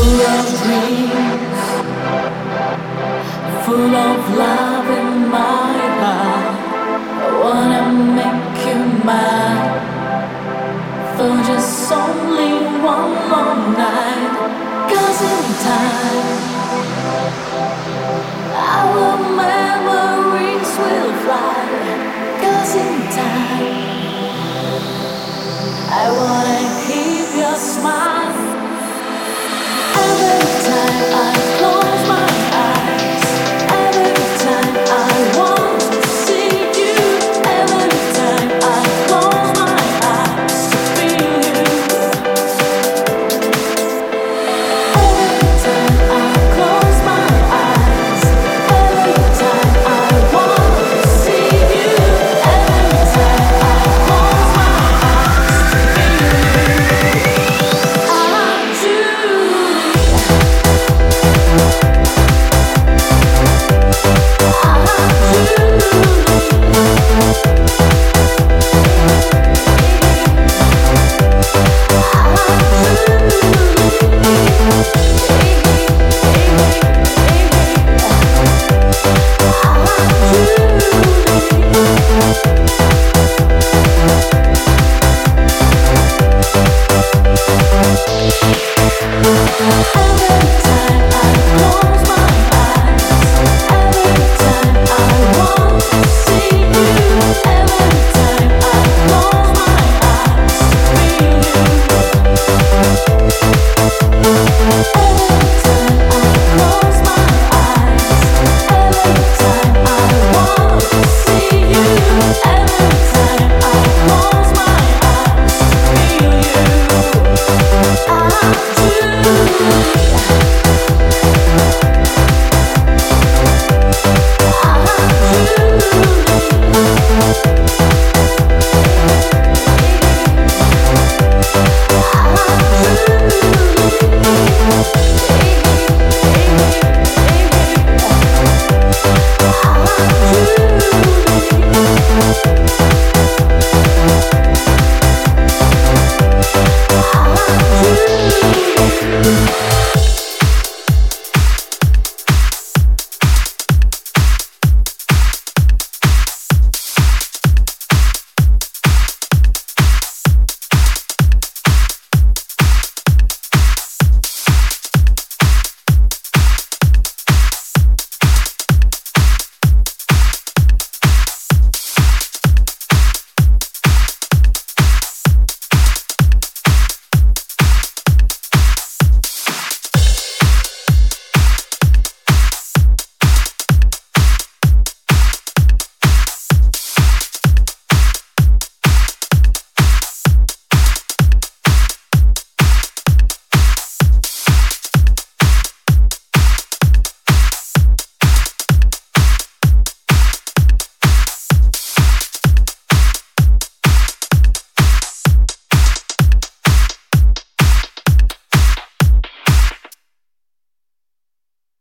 full of dreams, full of love in my heart. I wanna make you mine for just only one long night. 'Cause in time, our memories will fly. 'Cause in time, I wanna keep your smile. Every time I close my eyes, every time I want to see you, every time I close my eyes to feel you, every time I close my eyes, every time I want to see you, every time I close my eyes to feel you, I do. I do.